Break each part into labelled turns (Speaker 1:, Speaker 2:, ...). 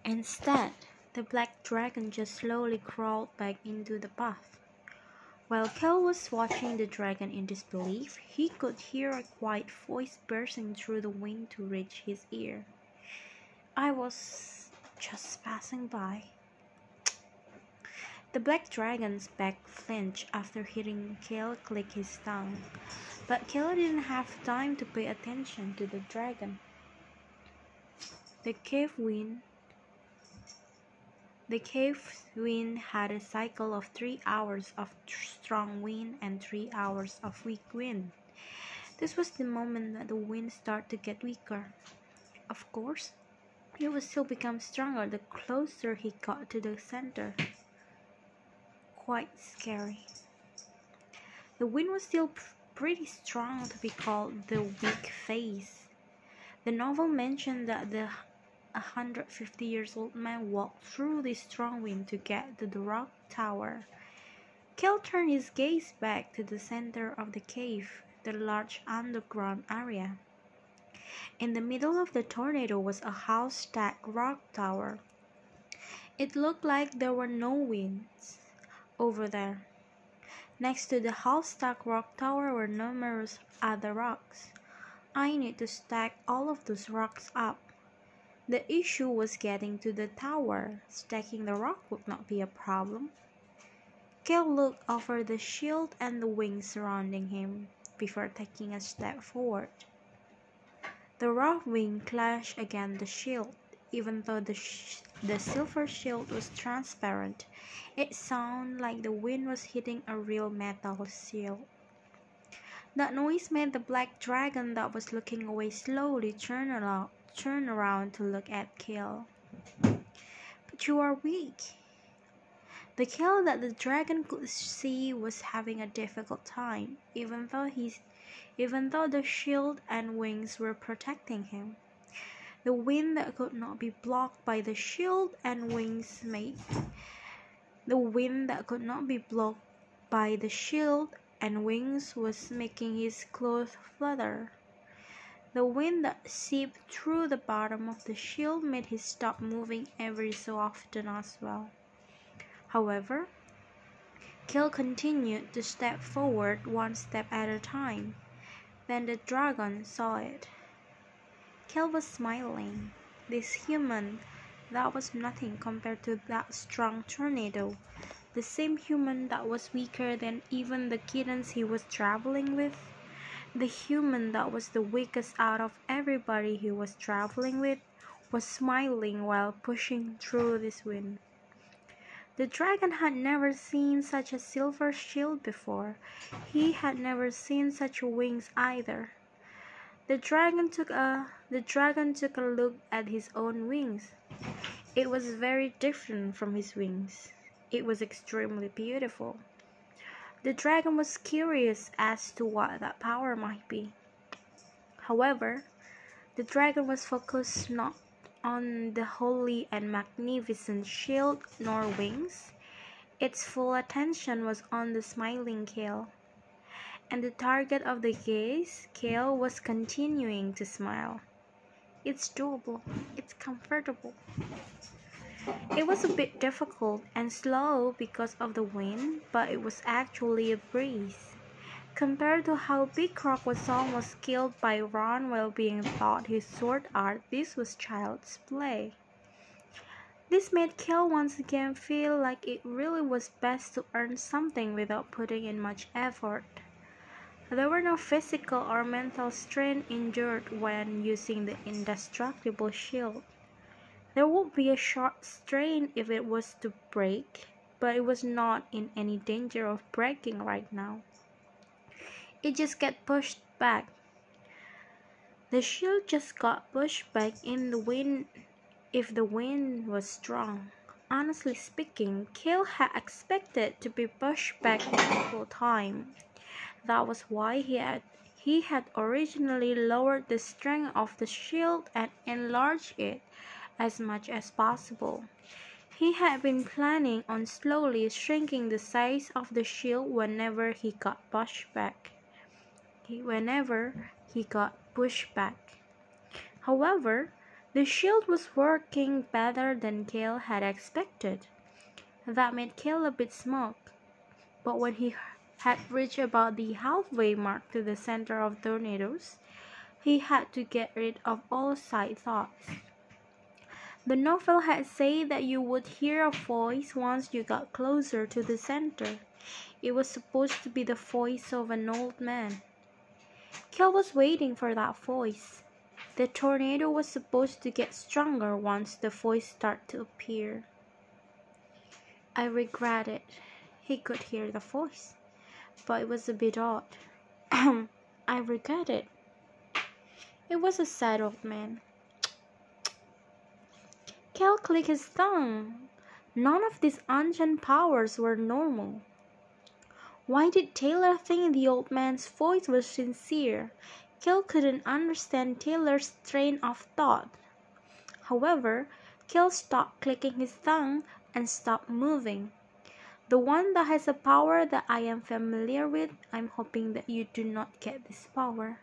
Speaker 1: Instead, the black dragon just slowly crawled back into the path. While Kel was watching the dragon in disbelief, he could hear a quiet voice bursting through the wind to reach his ear. "I was just passing by." The black dragon's back flinched after hearing Kel click his tongue, but Kel didn't have time to pay attention to the dragon. The cave wind The cave wind had a cycle of 3 hours of strong wind and 3 hours of weak wind. This was the moment that the wind started to get weaker. Of course, it would still become stronger the closer he got to the center. Quite scary. The wind was still pretty strong to be called the weak phase. The novel mentioned that the 150-year-old man walked through the strong wind to get to the rock tower. Kel turned his gaze back to the center of the cave, the large underground area. In the middle of the tornado was a house-stacked rock tower. It looked like there were no winds over there. Next to the house-stacked rock tower were numerous other rocks. I need to stack all of those rocks up. The issue was getting to the tower. Stacking the rock would not be a problem. Kel looked over the shield and the wings surrounding him before taking a step forward. The rock wing clashed against the shield. Even though the silver shield was transparent, it sounded like the wind was hitting a real metal shield. That noise made the black dragon that was looking away slowly turn around to look at Kel. "But you are weak." The Kel that the dragon could see was having a difficult time, even though the shield and wings were protecting him. The wind that could not be blocked by the shield and wings was making his clothes flutter. The wind that seeped through the bottom of the shield made him stop moving every so often as well. However, Kel continued to step forward one step at a time. Then the dragon saw it. Kel was smiling. This human, that was nothing compared to that strong tornado. The same human that was weaker than even the kittens he was traveling with. The human that was the weakest out of everybody he was traveling with was smiling while pushing through this wind. The dragon had never seen such a silver shield before. He had never seen such wings either. The dragon took a look at his own wings. It was very different from his wings. It was extremely beautiful. The dragon was curious as to what that power might be. However, the dragon was focused not on the holy and magnificent shield nor wings. Its full attention was on the smiling Kel. And the target of the gaze, Kel was continuing to smile. "It's doable. It's comfortable." It was a bit difficult and slow because of the wind, but it was actually a breeze. Compared to how Big Rock was almost killed by Ron while being taught his sword art, this was child's play. This made Kel once again feel like it really was best to earn something without putting in much effort. There were no physical or mental strain endured when using the indestructible shield. There would be a short strain if it was to break, but it was not in any danger of breaking right now. It just got pushed back. The shield just got pushed back in the wind if the wind was strong. Honestly speaking, Kel had expected to be pushed back the whole time. That was why he had originally lowered the strength of the shield and enlarged it as much as possible. He had been planning on slowly shrinking the size of the shield whenever he got pushed back. However, The shield was working better than Kale had expected. That made Kale a bit smug. But when he had reached about the halfway mark to the center of tornadoes, he had to get rid of all side thoughts. The novel had said that you would hear a voice once you got closer to the center. It was supposed to be the voice of an old man. Kel was waiting for that voice. The tornado was supposed to get stronger once the voice started to appear. I regret it. He could hear the voice, but it was a bit odd. I regret it. It was a sad old man. Kel clicked his tongue. None of these ancient powers were normal. Why did Taylor think the old man's voice was sincere? Kel couldn't understand Taylor's train of thought. However, Kel stopped clicking his tongue and stopped moving. The one that has a power that I am familiar with, I'm hoping that you do not get this power.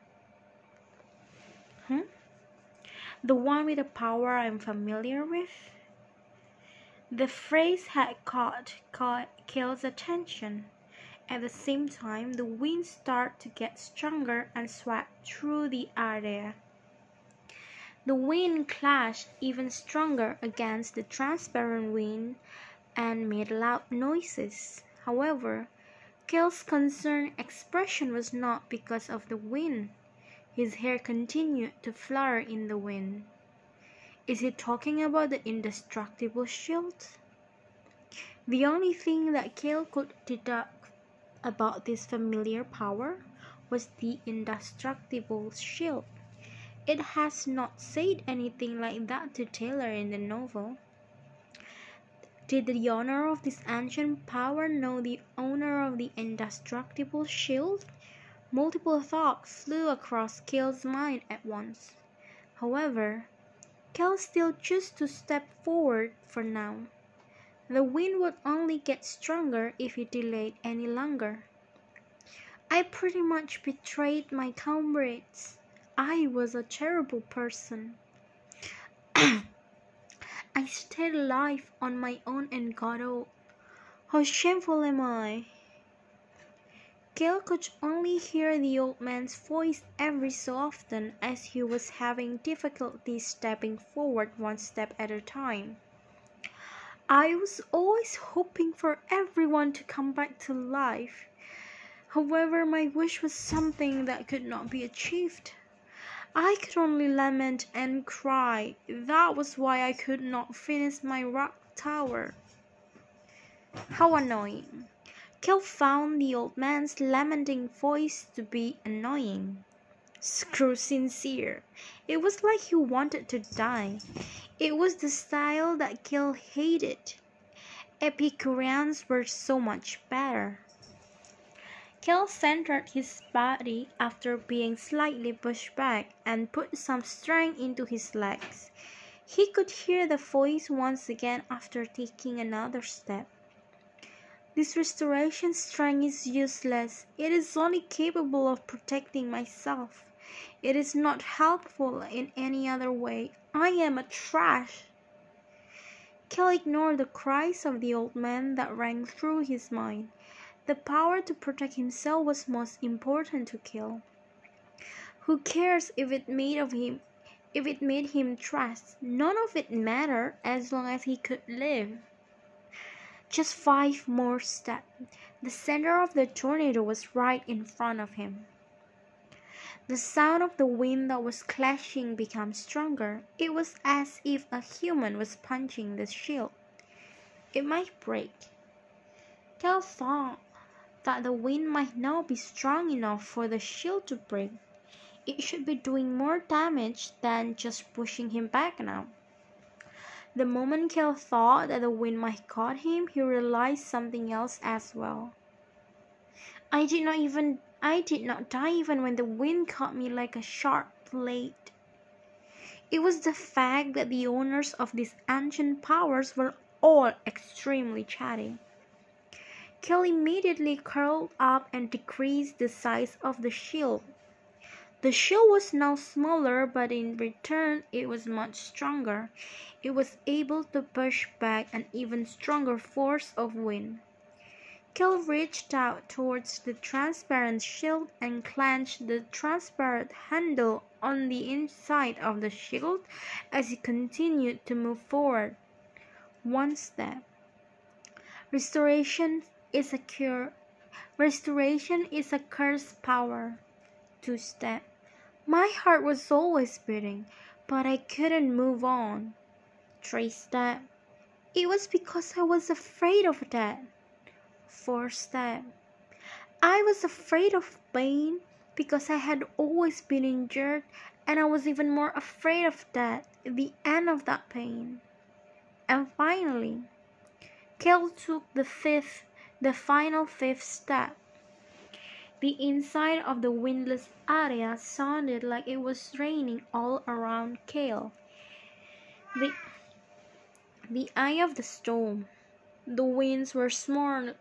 Speaker 1: The one with a power I'm familiar with? The phrase had caught Kel's attention. At the same time, the wind started to get stronger and swept through the area. The wind clashed even stronger against the transparent wind and made loud noises. However, Kel's concerned expression was not because of the wind. His hair continued to flutter in the wind. Is he talking about the indestructible shield? The only thing that Kel could deduct about this familiar power was the indestructible shield. It has not said anything like that to Taylor in the novel. Did the owner of this ancient power know the owner of the indestructible shield? Multiple thoughts flew across Kel's mind at once. However, Kel still chose to step forward for now. The wind would only get stronger if he delayed any longer. I pretty much betrayed my comrades. I was a terrible person. I stayed alive on my own and got old. How shameful am I? Kel could only hear the old man's voice every so often as he was having difficulty stepping forward one step at a time. I was always hoping for everyone to come back to life. However, my wish was something that could not be achieved. I could only lament and cry. That was why I could not finish my rock tower. How annoying. Kel found the old man's lamenting voice to be annoying. Screw sincere. It was like he wanted to die. It was the style that Kel hated. Epicureans were so much better. Kel centered his body after being slightly pushed back and put some strength into his legs. He could hear the voice once again after taking another step. This restoration strength is useless. It is only capable of protecting myself. It is not helpful in any other way. I am a trash. Kel ignored the cries of the old man that rang through his mind. The power to protect himself was most important to Kel. Who cares if it made him trash? None of it mattered as long as he could live. Just 5 more steps. The center of the tornado was right in front of him. The sound of the wind that was clashing became stronger. It was as if a human was punching the shield. It might break. Kel thought that the wind might not be strong enough for the shield to break. It should be doing more damage than just pushing him back now. The moment Kel thought that the wind might cut him, he realized something else as well. I did not die even when the wind caught me like a sharp blade. It was the fact that the owners of these ancient powers were all extremely chatty. Kel immediately curled up and decreased the size of the shield. The shield was now smaller, but in return it was much stronger. It was able to push back an even stronger force of wind. Kel reached out towards the transparent shield and clenched the transparent handle on the inside of the shield as he continued to move forward. One step. Restoration is a cure. Restoration is a cursed power. 2 step. My heart was always beating, but I couldn't move on. 3 step. It was because I was afraid of death. 4 step. I was afraid of pain because I had always been injured, and I was even more afraid of death, the end of that pain. And finally, Kel took the final fifth step. The inside of the windless area sounded like it was raining all around Kel. The eye of the storm. The winds were swarming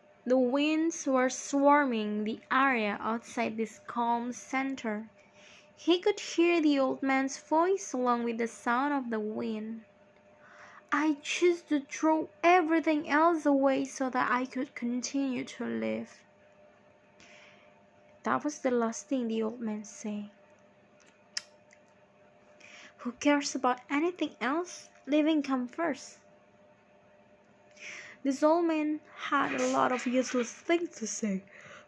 Speaker 1: the area outside this calm center. He could hear the old man's voice along with the sound of the wind. I choose to throw everything else away so that I could continue to live. That was the last thing the old man said. Who cares about anything else? Living comes first. This old man had a lot of useless things to say.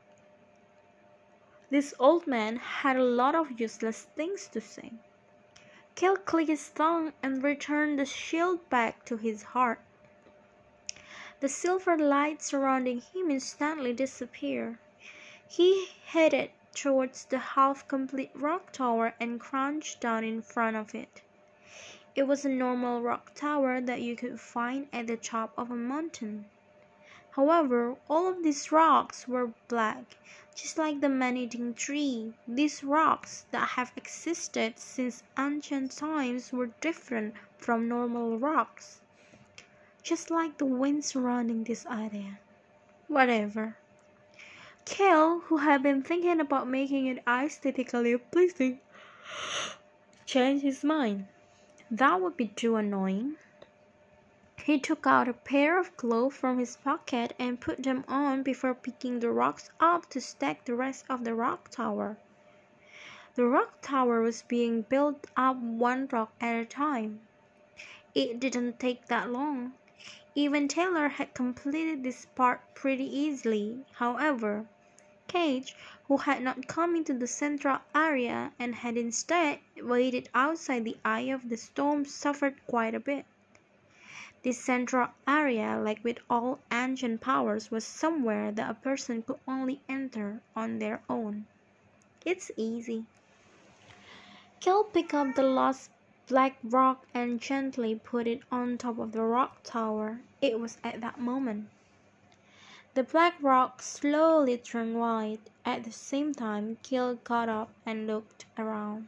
Speaker 1: Kel clicked his tongue and returned the shield back to his heart. The silver light surrounding him instantly disappeared. He headed towards the half-complete rock tower and crouched down in front of it. It was a normal rock tower that you could find at the top of a mountain. However, all of these rocks were black, just like the man-eating tree. These rocks that have existed since ancient times were different from normal rocks, just like the wind surrounding this area. Whatever. Kel, who had been thinking about making it aesthetically pleasing, changed his mind. That would be too annoying. He took out a pair of gloves from his pocket and put them on before picking the rocks up to stack the rest of the rock tower. The rock tower was being built up one rock at a time. It didn't take that long. Even Taylor had completed this part pretty easily. However, Cage, who had not come into the central area and had instead waited outside the eye of the storm, suffered quite a bit. This central area, like with all ancient powers, was somewhere that a person could only enter on their own. It's easy. Kel picked up the last black rock and gently put it on top of the rock tower. It was at that moment. The black rock slowly turned white. At the same time, Kel got up and looked around.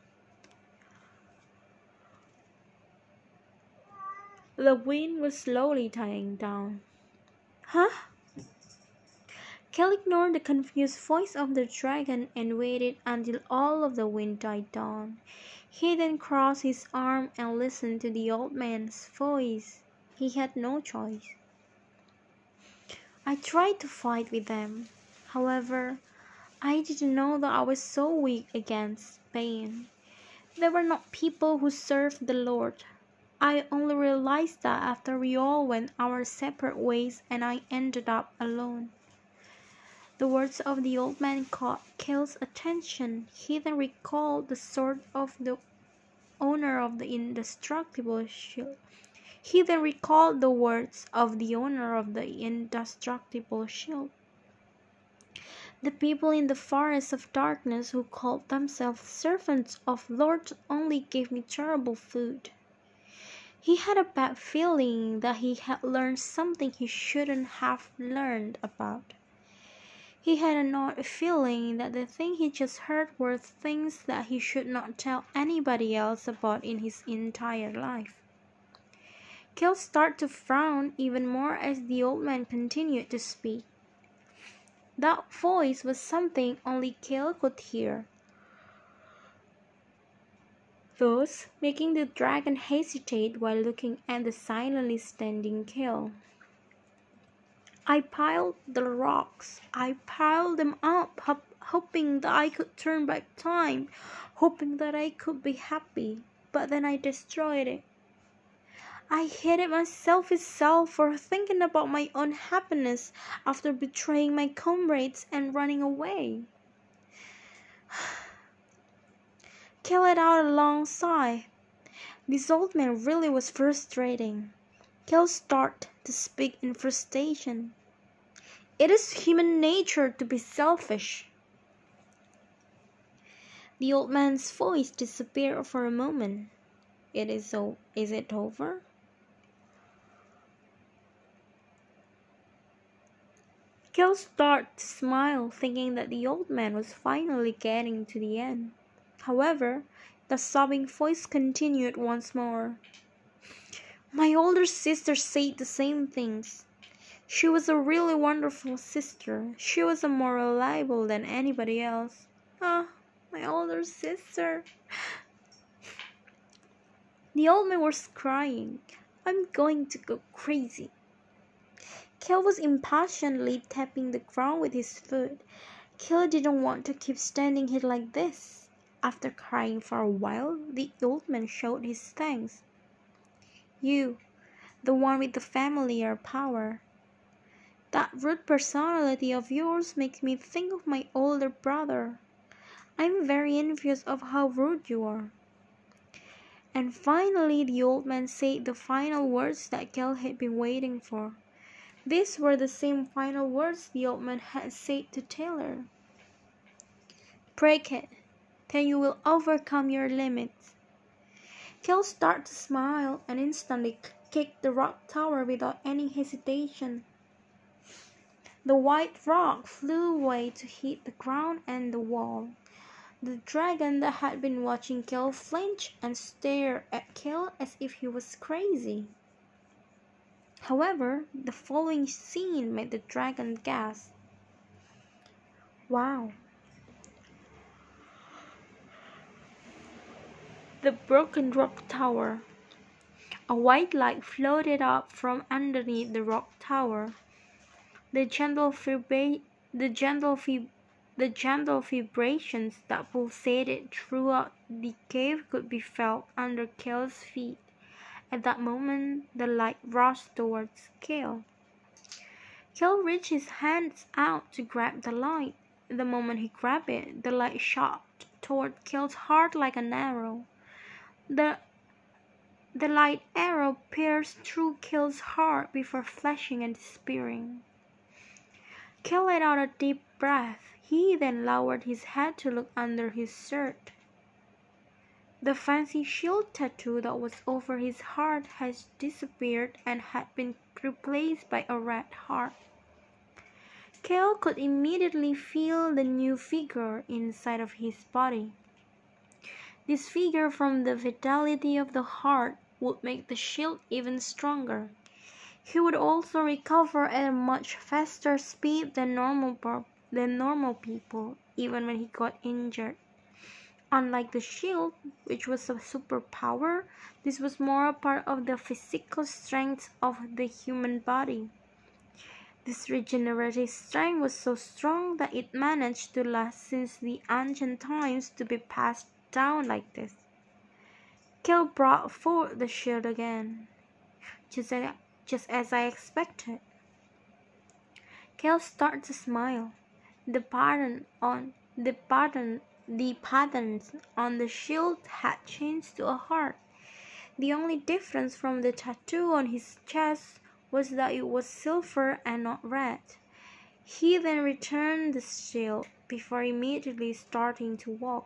Speaker 1: The wind was slowly dying down. Huh? Kel ignored the confused voice of the dragon and waited until all of the wind died down. He then crossed his arms and listened to the old man's voice. He had no choice. I tried to fight with them. However, I didn't know that I was so weak against pain. They were not people who served the Lord. I only realized that after we all went our separate ways and I ended up alone. The words of the old man caught Kel's attention. He then recalled the sword of the owner of the indestructible shield. The people in the forest of darkness who called themselves servants of Lord only gave me terrible food. He had a bad feeling that he had learned something he shouldn't have learned about. He had an odd feeling that the thing he just heard were things that he should not tell anybody else about in his entire life. Kel started to frown even more as the old man continued to speak. That voice was something only Kel could hear. thus making the dragon hesitate while looking at the silently standing Kale. I piled the rocks. I piled them up, hoping that I could turn back time, hoping that I could be happy, but then I destroyed it. I hated my selfish self for thinking about my own happiness after betraying my comrades and running away. Kale let out a long sigh. This old man really was frustrating. Kale started to speak in frustration. It is human nature to be selfish. The old man's voice disappeared for a moment. Is it over? Kale started to smile, thinking that the old man was finally getting to the end. However, the sobbing voice continued once more. My older sister said the same things. She was a really wonderful sister. She was more reliable than anybody else. Ah, my older sister. The old man was crying. I'm going to go crazy. Kale was impatiently tapping the ground with his foot. Kale didn't want to keep standing here like this. After crying for a while, the old man showed his thanks. You, the one with the familiar power. That rude personality of yours makes me think of my older brother. I'm very envious of how rude you are. And finally the old man said the final words that Kale had been waiting for. These were the same final words the old man had said to Taylor. Break it, then you will overcome your limits. Kale started to smile and instantly kicked the rock tower without any hesitation. The white rock flew away to hit the ground and the wall. The dragon that had been watching Kale flinched and stared at Kale as if he was crazy. However, the following scene made the dragon gasp. Wow. The broken rock tower. A white light floated up from underneath the rock tower. The gentle vibrations that pulsated throughout the cave could be felt under Kale's feet. At that moment, the light rushed towards Kale. Kale reached his hands out to grab the light. The moment he grabbed it, the light shot toward Kale's heart like an arrow. The light arrow pierced through Kale's heart before flashing and disappearing. Kale let out a deep breath. He then lowered his head to look under his shirt. The fancy shield tattoo that was over his heart had disappeared and had been replaced by a red heart. Kale could immediately feel the new figure inside of his body. This figure, from the vitality of the heart, would make the shield even stronger. He would also recover at a much faster speed than normal people, even when he got injured. Unlike the shield, which was a superpower, this was more a part of the physical strength of the human body. This regenerative strength was so strong that it managed to last since the ancient times to be passed down like this. Kale brought forth the shield again, just as I expected. Kale started to smile. The patterns on the shield had changed to a heart. The only difference from the tattoo on his chest was that it was silver and not red. He then returned the shield before immediately starting to walk.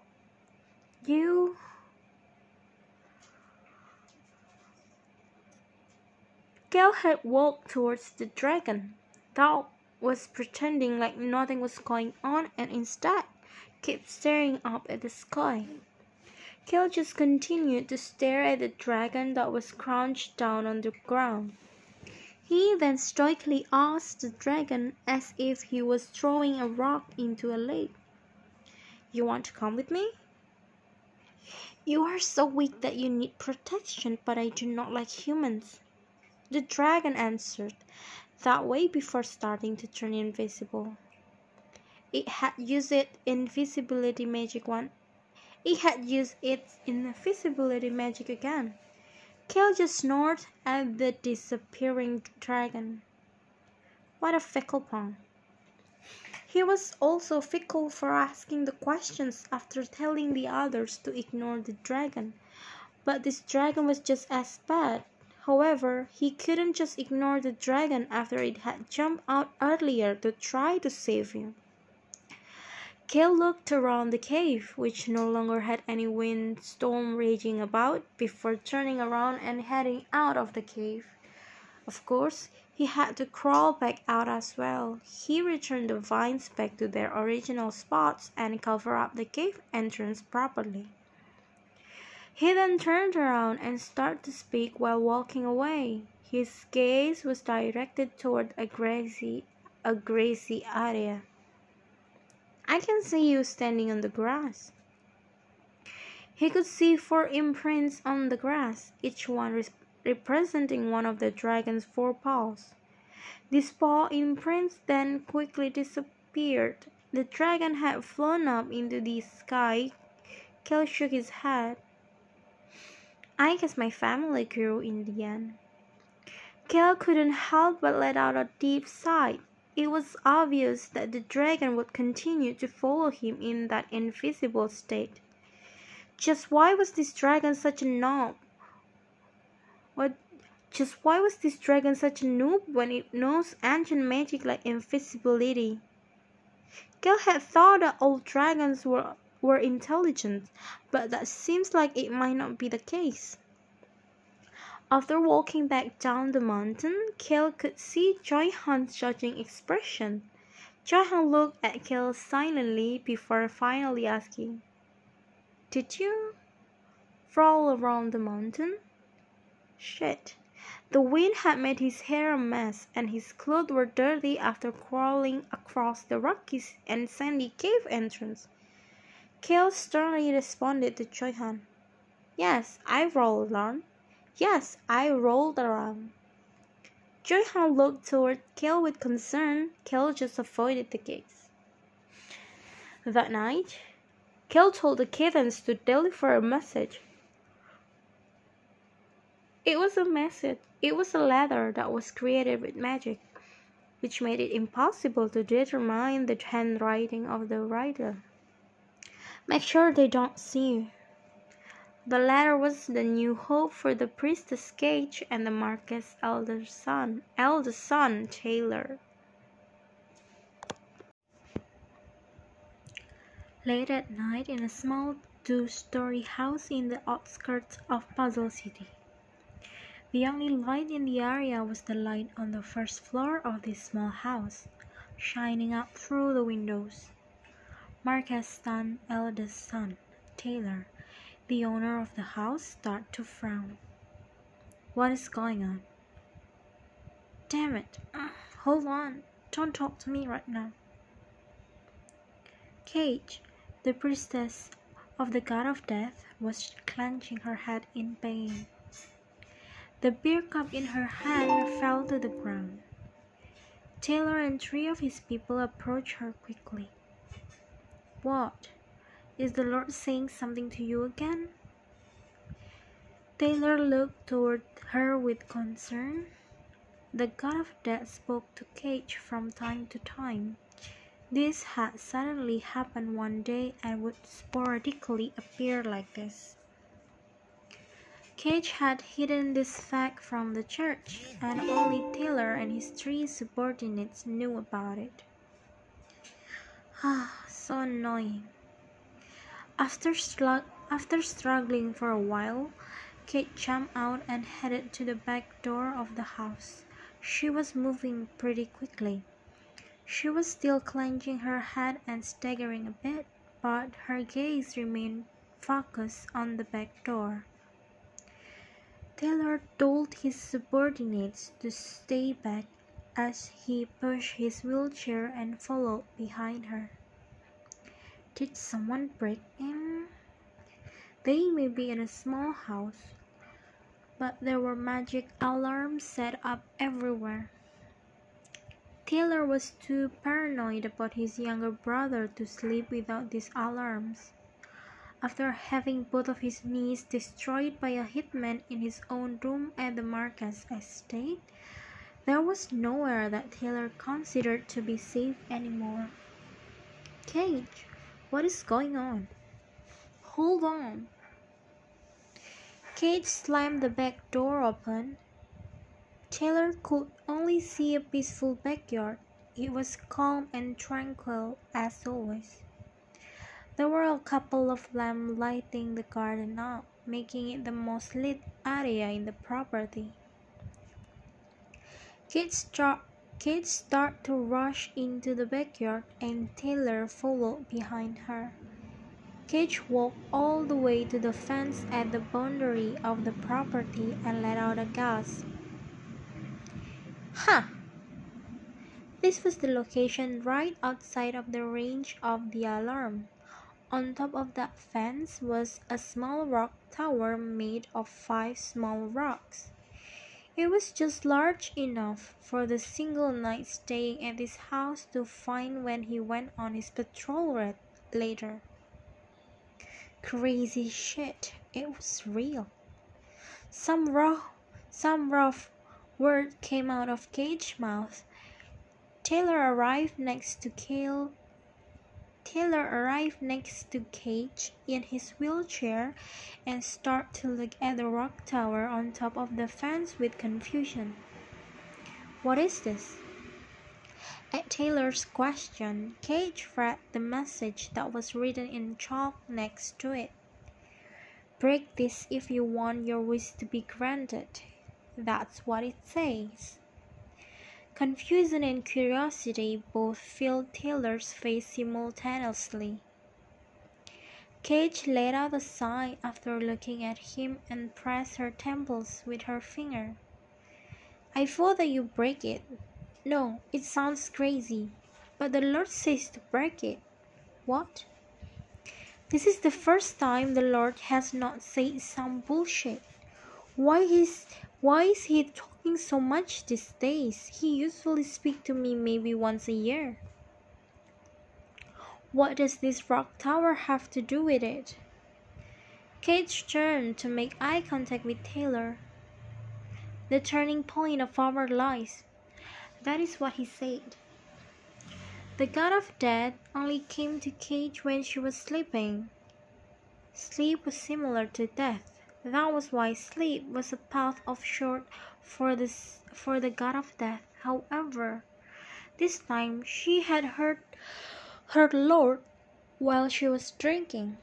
Speaker 1: Kale had walked towards the dragon. Thou was pretending like nothing was going on and instead kept staring up at the sky. Kale just continued to stare at the dragon that was crouched down on the ground. He then stoically asked the dragon as if he was throwing a rock into a lake. You want to come with me? You are so weak that you need protection, but I do not like humans. The dragon answered that way before starting to turn invisible. It had used its invisibility magic one. It had used its invisibility magic again. Kale just snorted at the disappearing dragon. What a fickle pawn. He was also fickle for asking the questions after telling the others to ignore the dragon. But this dragon was just as bad. However, he couldn't just ignore the dragon after it had jumped out earlier to try to save him. Kale looked around the cave, which no longer had any windstorm raging about, before turning around and heading out of the cave. Of course, he had to crawl back out as well. He returned the vines back to their original spots and covered up the cave entrance properly. He then turned around and started to speak while walking away. His gaze was directed toward a grassy area. I can see you standing on the grass. He could see 4 imprints on the grass, each one representing one of the dragon's 4 paws. These paw imprints then quickly disappeared. The dragon had flown up into the sky. Kale shook his head. I guess my family grew in the end. Kale couldn't help but let out a deep sigh. It was obvious that the dragon would continue to follow him in that invisible state. Just why was this dragon such a noob? Why was this dragon such a noob when it knows ancient magic like invisibility? Kale had thought that all dragons were intelligent, but that seems like it might not be the case. After walking back down the mountain, Kale could see Joy-Han's judging expression. Joy-Han looked at Kale silently before finally asking, Did you roll around the mountain? Shit. The wind had made his hair a mess, and his clothes were dirty after crawling across the rocky and sandy cave entrance. Kale sternly responded to Joy-Han, Yes, I rolled around. Yes, I rolled around. Joy-Han looked toward Kale with concern. Kale just avoided the gaze. That night, Kale told the kittens to deliver a message. It was a letter that was created with magic, which made it impossible to determine the handwriting of the writer. Make sure they don't see you. The letter was the new hope for the priestess Cage and the Marquess's eldest son, Taylor. Late at night in a small 2-story house in the outskirts of Puzzle City. The only light in the area was the light on the first floor of this small house, shining up through the windows. Marquess's eldest son, Taylor, the owner of the house, started to frown. What is going on? Damn it. Hold on. Don't talk to me right now. Cage, the priestess of the god of death, was clenching her head in pain. The beer cup in her hand fell to the ground. Taylor and 3 of his people approached her quickly. What? Is the Lord saying something to you again? Taylor looked toward her with concern. The god of death spoke to Cage from time to time. This had suddenly happened one day and would sporadically appear like this. Cage had hidden this fact from the church, and only Taylor and his 3 subordinates knew about it. So annoying. After struggling for a while, Kate jumped out and headed to the back door of the house. She was moving pretty quickly. She was still clenching her head and staggering a bit, but her gaze remained focused on the back door. Taylor told his subordinates to stay back as he pushed his wheelchair and followed behind her. Did someone break in? They may be in a small house, but there were magic alarms set up everywhere. Taylor was too paranoid about his younger brother to sleep without these alarms. After having both of his knees destroyed by a hitman in his own room at the Marcus estate, there was nowhere that Taylor considered to be safe anymore. "Cage, what is going on?" "Hold on." Cage slammed the back door open. Taylor could only see a peaceful backyard. It was calm and tranquil as always. There were a couple of lamps lighting the garden up, making it the most lit area in the property. Kate started to rush into the backyard, and Taylor followed behind her. Cage walked all the way to the fence at the boundary of the property and let out a gasp. "Huh!" This was the location right outside of the range of the alarm. On top of that fence was a small rock tower made of 5 small rocks. It was just large enough for the single knight staying at his house to find when he went on his patrol later. Crazy shit, it was real. Some rough word came out of Cage's mouth. Taylor arrived next to Cage in his wheelchair and started to look at the rock tower on top of the fence with confusion. "What is this?" At Taylor's question, Cage read the message that was written in chalk next to it. "Break this if you want your wish to be granted." That's what it says. Confusion and curiosity both filled Taylor's face simultaneously. Cage laid out the sign after looking at him and pressed her temples with her finger. "I thought that you break it." "No, it sounds crazy, but the Lord says to break it." "What?" "This is the first time the Lord has not said some bullshit. Why is he talking so much these days? He usually speaks to me maybe once a year." "What does this rock tower have to do with it?" Cage turned to make eye contact with Taylor. "The turning point of our lives." That is what he said. The god of death only came to Cage when she was sleeping. Sleep was similar to death. That was why sleep was a path of short for the god of death. However, this time she had heard her lord while she was drinking.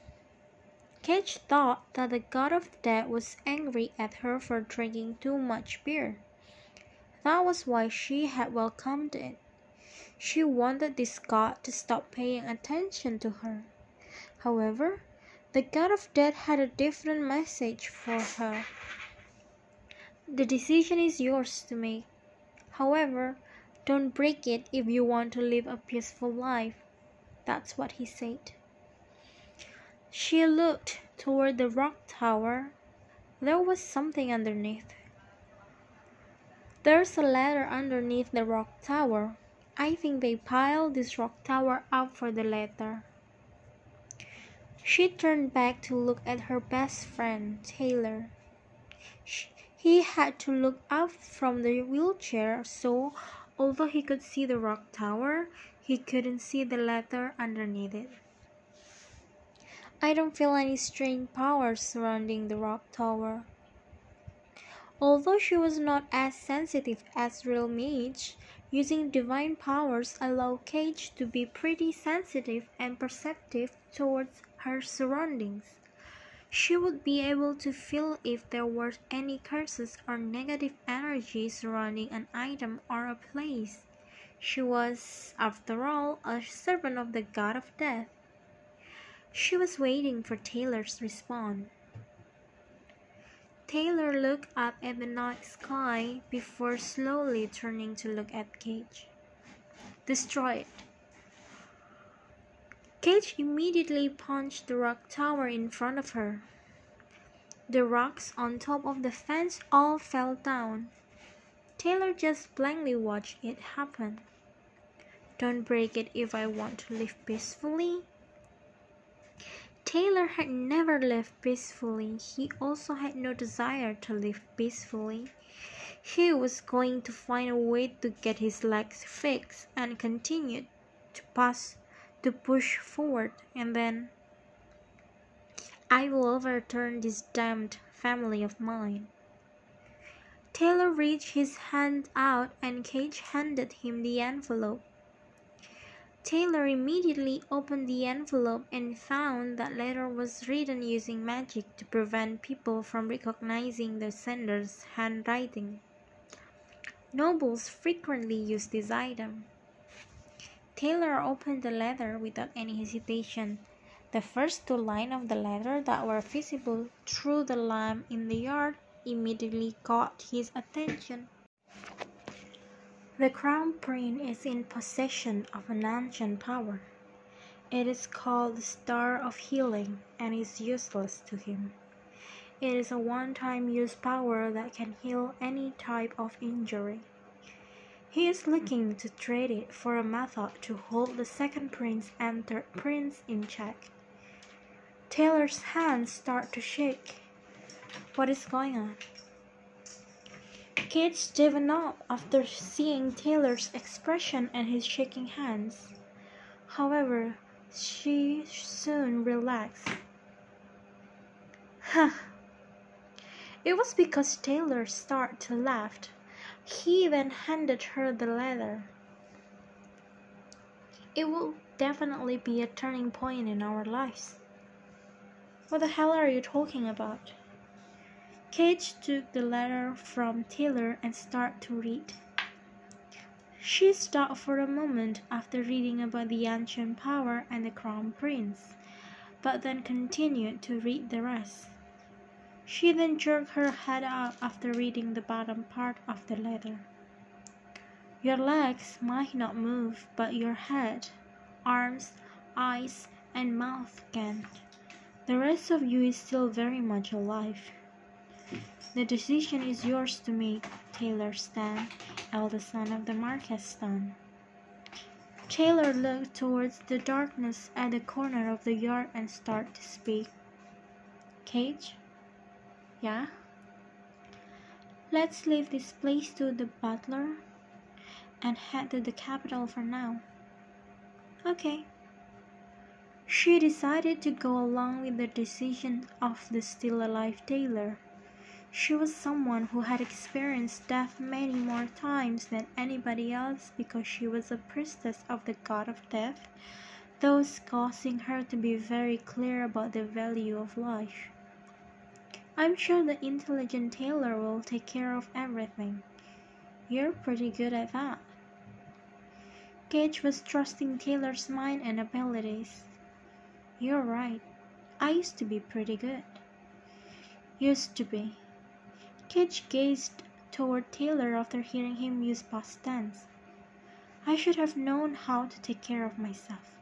Speaker 1: Cage thought that the god of death was angry at her for drinking too much beer. That was why she had welcomed it. She wanted this god to stop paying attention to her. However, the god of death had a different message for her. "The decision is yours to make. However, don't break it if you want to live a peaceful life." That's what he said. She looked toward the rock tower. There was something underneath. "There's a ladder underneath the rock tower. I think they piled this rock tower up for the ladder." She turned back to look at her best friend, Taylor. He had to look up from the wheelchair, so although he could see the rock tower, he couldn't see the ladder underneath it. "I don't feel any strange powers surrounding the rock tower." Although she was not as sensitive as real mage, using divine powers allowed Cage to be pretty sensitive and perceptive towards her surroundings. She would be able to feel if there were any curses or negative energy surrounding an item or a place. She was, after all, a servant of the god of death. She was waiting for Taylor's response. Taylor looked up at the night sky before slowly turning to look at Cage. "Destroy it." Kate immediately punched the rock tower in front of her. The rocks on top of the fence all fell down. Taylor just blankly watched it happen. Don't break it if I want to live peacefully. Taylor had never lived peacefully. He also had no desire to live peacefully. He was going to find a way to get his legs fixed and continued to push forward, and then I will overturn this damned family of mine. Taylor reached his hand out and Cage handed him the envelope. Taylor immediately opened the envelope and found that letter was written using magic to prevent people from recognizing the sender's handwriting. Nobles frequently use this item. Taylor opened the letter without any hesitation. The first two lines of the letter that were visible through the lamp in the yard immediately caught his attention. The Crown Prince is in possession of an ancient power. It is called the Star of Healing and is useless to him. It is a one-time use power that can heal any type of injury. He is looking to trade it for a method to hold the second prince and third prince in check. Taylor's hands start to shake. What is going on? Kate stiffened up after seeing Taylor's expression and his shaking hands. However, she soon relaxed. Huh. It was because Taylor started to laugh. He then handed her the letter. It will definitely be a turning point in our lives. What the hell are you talking about? Kate took the letter from Taylor and started to read. She stopped for a moment after reading about the ancient power and the Crown Prince, but then continued to read the rest. She then jerked her head up after reading the bottom part of the letter. Your legs might not move, but your head, arms, eyes, and mouth can. The rest of you is still very much alive. The decision is yours to make, Taylor Stan, eldest son of the Marquess Stan. Taylor looked towards the darkness at the corner of the yard and started to speak. Cage? Yeah? Let's leave this place to the butler and head to the capital for now. Okay. She decided to go along with the decision of the still-alive Taylor. She was someone who had experienced death many more times than anybody else because she was a priestess of the god of death, thus causing her to be very clear about the value of life. I'm sure the intelligent Taylor will take care of everything. You're pretty good at that. Cage was trusting Taylor's mind and abilities. You're right. I used to be pretty good. Used to be. Cage gazed toward Taylor after hearing him use past tense. I should have known how to take care of myself.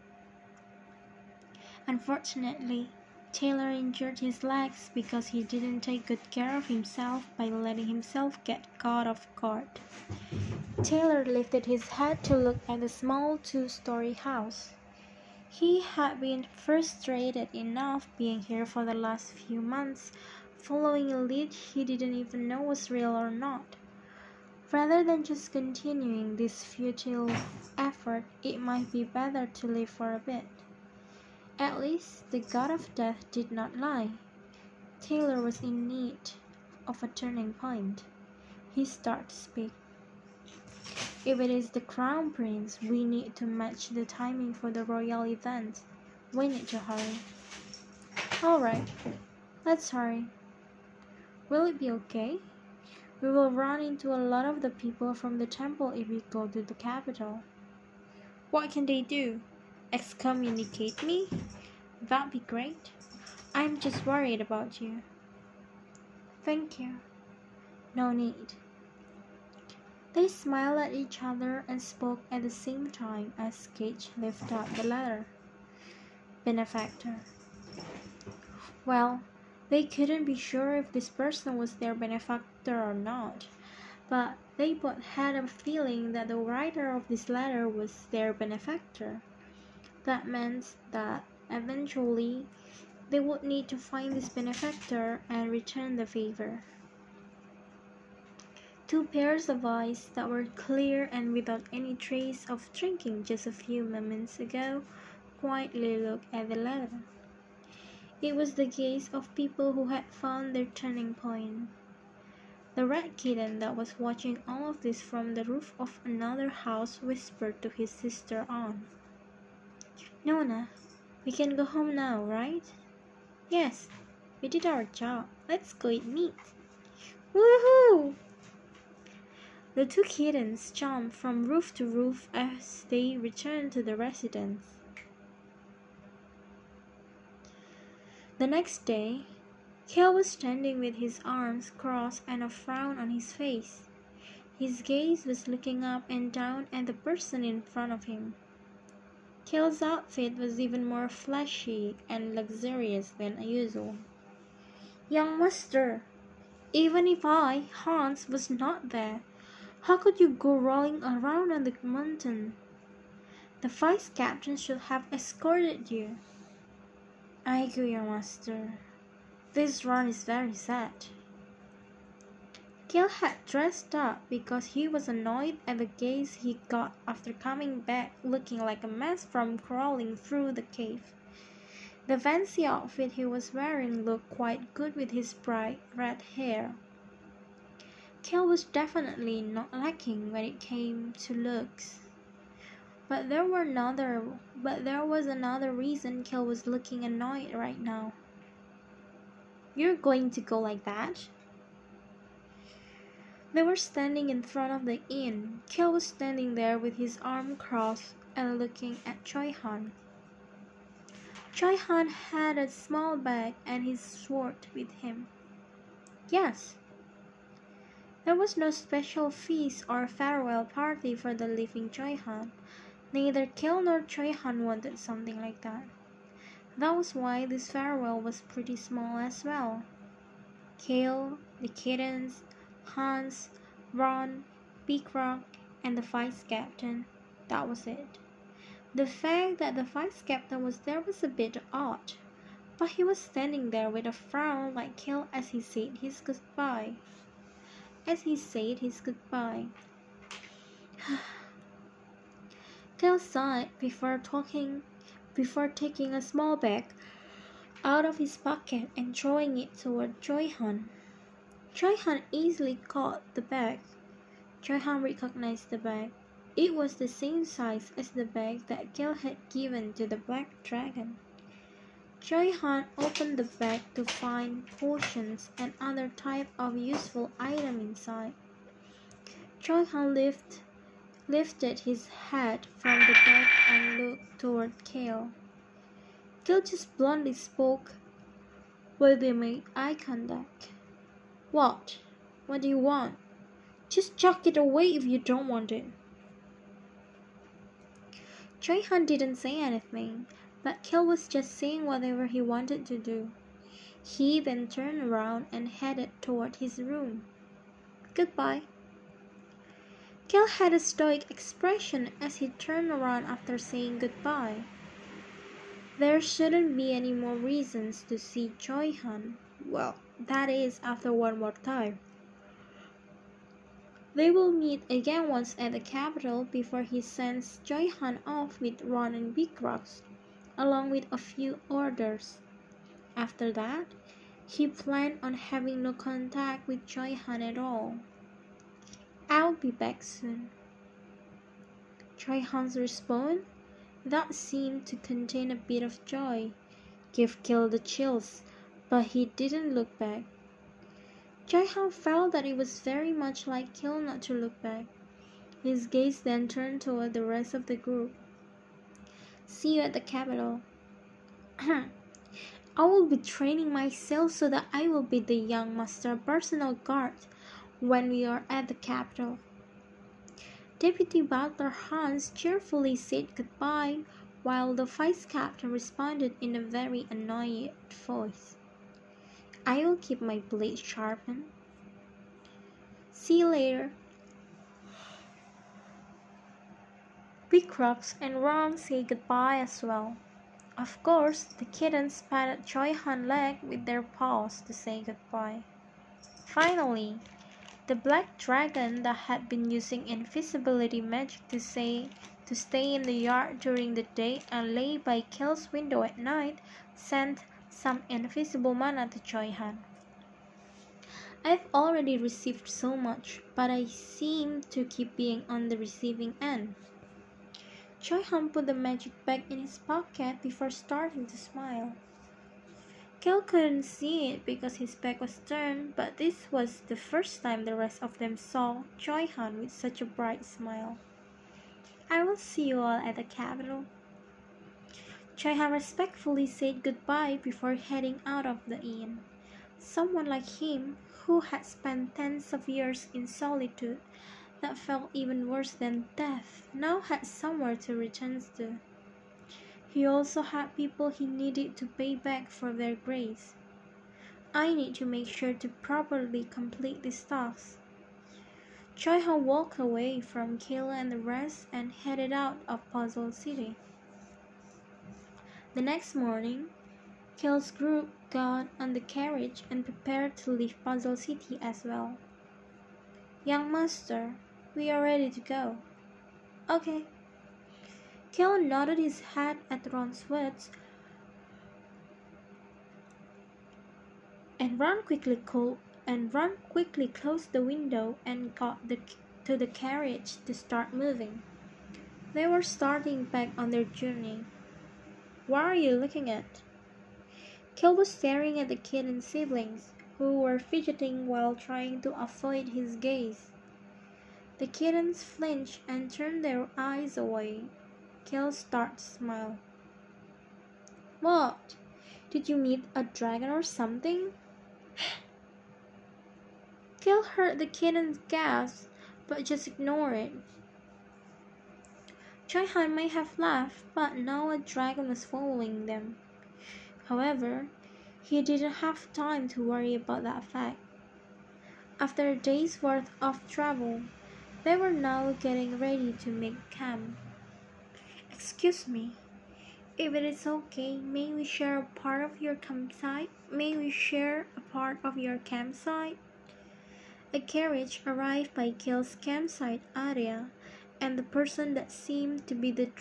Speaker 1: Unfortunately, Taylor injured his legs because he didn't take good care of himself by letting himself get caught off guard. Taylor lifted his head to look at the small two-story house. He had been frustrated enough being here for the last few months, following a lead he didn't even know was real or not. Rather than just continuing this futile effort, it might be better to live for a bit. At least the god of death did not lie. Taylor was in need of a turning point. He started to speak. If it is the Crown Prince, we need to match the timing for the royal event. We need to hurry. Alright, let's hurry. Will it be okay? We will run into a lot of the people from the temple if we go to the capital. What can they do? Excommunicate me? That'd be great. I'm just worried about you. Thank you. No need. They smiled at each other and spoke at the same time as Cage lifted up the letter. benefactor. Well, they couldn't be sure if this person was their benefactor or not, but they both had a feeling that the writer of this letter was their benefactor. That meant that eventually they would need to find this benefactor and return the favor. Two pairs of eyes that were clear and without any trace of drinking just a few moments ago quietly looked at the letter. It was the gaze of people who had found their turning point. The red kitten that was watching all of this from the roof of another house whispered to his sister Anne, "Nona, we can go home now, right?" "Yes, we did our job. Let's go eat meat." "Woohoo!" The two kittens jumped from roof to roof as they returned to the residence. The next day, Cale was standing with his arms crossed and a frown on his face. His gaze was looking up and down at the person in front of him. Cale's outfit was even more flashy and luxurious than usual. "Young master, even if I, Hans, was not there, how could you go rolling around on the mountain? The vice captain should have escorted you." "I agree, young master. This run is very sad." Cale had dressed up because he was annoyed at the gaze he got after coming back looking like a mess from crawling through the cave. The fancy outfit he was wearing looked quite good with his bright red hair. Cale was definitely not lacking when it came to looks. But there was another reason Cale was looking annoyed right now. "You're going to go like that?" They were standing in front of the inn. Cale was standing there with his arm crossed and looking at Choi Han. Choi Han had a small bag and his sword with him. "Yes." There was no special feast or farewell party for the leaving Choi Han. Neither Cale nor Choi Han wanted something like that. That was why this farewell was pretty small as well. Cale, the kittens, Hans, Ron, Big Rock, and the vice captain. That was it. The fact that the vice captain was there was a bit odd, but he was standing there with a frown like Cale as he said his goodbye. Cale sighed before taking a small bag out of his pocket and throwing it toward Choi Han. Choi Han easily caught the bag. Choi Han recognized the bag. It was the same size as the bag that Cale had given to the black dragon. Choi Han opened the bag to find potions and other type of useful item inside. Choi Han lifted his head from the bag and looked toward Cale. Cale just bluntly spoke while they made eye contact. "What? What do you want? Just chuck it away if you don't want it." Choi Han didn't say anything, but Cale was just saying whatever he wanted to do. He then turned around and headed toward his room. "Goodbye." Cale had a stoic expression as he turned around after saying goodbye. There shouldn't be any more reasons to see Choi Han. Well, that is, after one more time. They will meet again once at the capital before he sends Choi Han off with Ron and Big Rocks, along with a few orders. After that, he planned on having no contact with Choi Han at all. "I'll be back soon." Choi Han's response, that seemed to contain a bit of joy, gave Cale the chills, but he didn't look back. Choi Han felt that it was very much like Cale not to look back. His gaze then turned toward the rest of the group. "See you at the capital." "I will be training myself so that I will be the young master personal guard when we are at the capital." Deputy Butler Hans cheerfully said goodbye, while the vice captain responded in a very annoyed voice. I will keep my blade sharpened. See you later. Picrox and Ron say goodbye as well. Of course, the kittens patted Choi Han's leg with their paws to say goodbye. Finally, the black dragon that had been using invisibility magic to stay in the yard during the day and lay by Kale's window at night sent some invisible mana to Choi Han. I've already received so much, but I seem to keep being on the receiving end. Choi Han put the magic bag in his pocket before starting to smile. Kale couldn't see it because his back was turned, but this was the first time the rest of them saw Choi Han with such a bright smile. I will see you all at the capital. Choi Han respectfully said goodbye before heading out of the inn. Someone like him, who had spent tens of years in solitude that felt even worse than death, now had somewhere to return to. He also had people he needed to pay back for their grace. I need to make sure to properly complete this task. Choi Han walked away from Kayla and the rest and headed out of Puzzle City. The next morning, Kale's group got on the carriage and prepared to leave Puzzle City as well. Young master, we are ready to go. Okay. Kale nodded his head at Ron's words and Ron quickly closed the window and got to the carriage to start moving. They were starting back on their journey. What are you looking at? Kale was staring at the kid and siblings, who were fidgeting while trying to avoid his gaze. The kittens flinched and turned their eyes away. Kale started to smile. What? Did you meet a dragon or something? Kale heard the kittens gasp, but just ignored it. Choi Han may have laughed, but now a dragon was following them. However, he didn't have time to worry about that fact. After a day's worth of travel, they were now getting ready to make camp. Excuse me, if it is okay, may we share a part of your campsite? A carriage arrived by Kale's campsite area, and the person that seems to be the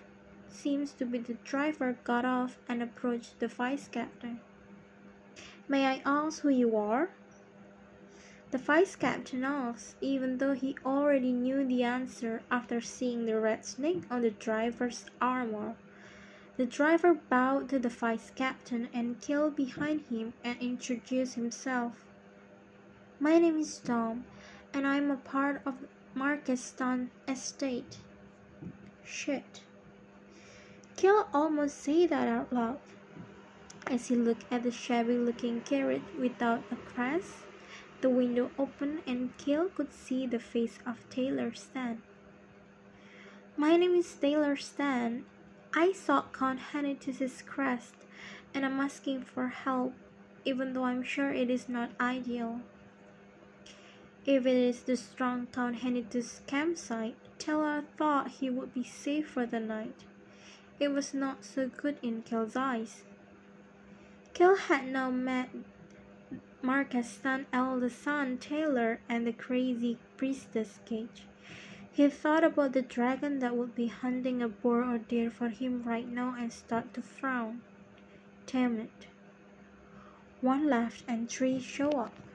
Speaker 1: driver got off and approached the vice captain. May I ask who you are? The vice captain asked, even though he already knew the answer after seeing the red snake on the driver's armor. The driver bowed to the vice captain and Kale behind him and introduced himself. My name is Tom, and I'm a part of Markestan estate. Shit. Kale almost said that out loud. As he looked at the shabby-looking carriage without a crest, the window opened and Kale could see the face of Taylor Stan. My name is Taylor Stan. I saw Count Henitus' crest, and I'm asking for help, even though I'm sure it is not ideal. If it is the strong Count Henitus campsite, Taylor thought he would be safe for the night. It was not so good in Kale's eyes. Kale had now met Markestan eldest son Taylor and the crazy priestess Cage. He thought about the dragon that would be hunting a boar or deer for him right now and started to frown. Damn it. One left and three show up.